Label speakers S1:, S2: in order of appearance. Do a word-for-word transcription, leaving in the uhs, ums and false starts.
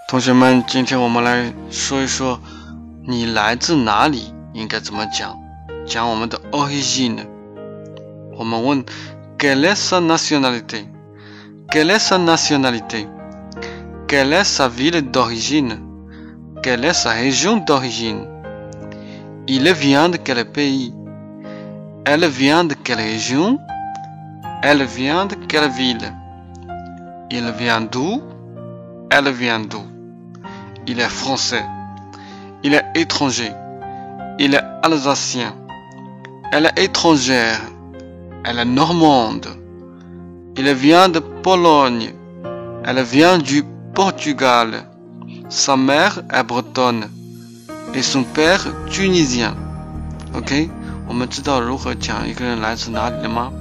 S1: 同学们，今天我们来说一说你来自哪里应该怎么讲，讲我们的 origine。我们问 Quelle est sa nationalité? Quelle est sa nationalité? Quelle est sa ville d'origine? Quelle est sa région d'origine? Il vient de quel pays? Elle vient de quelle région? Elle vient de quelle ville? Il vient d'où? Elle vient d'où? Il est français. Il est étranger. Il est alsacien. Elle est étrangère. Elle est normande. Il vient de Pologne. Elle vient du Portugal. Sa mère est bretonne. Et son père tunisien. OK? 我们知道如何讲一个人来自哪里了吗？